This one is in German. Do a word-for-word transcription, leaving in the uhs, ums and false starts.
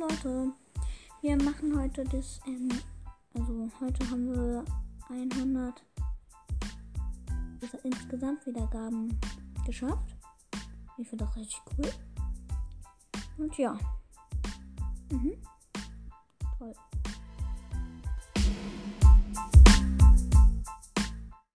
Leute, wir machen heute das, ähm, also heute haben wir hundert insgesamt Wiedergaben geschafft. Ich finde das richtig cool. Und ja. Mhm. Toll.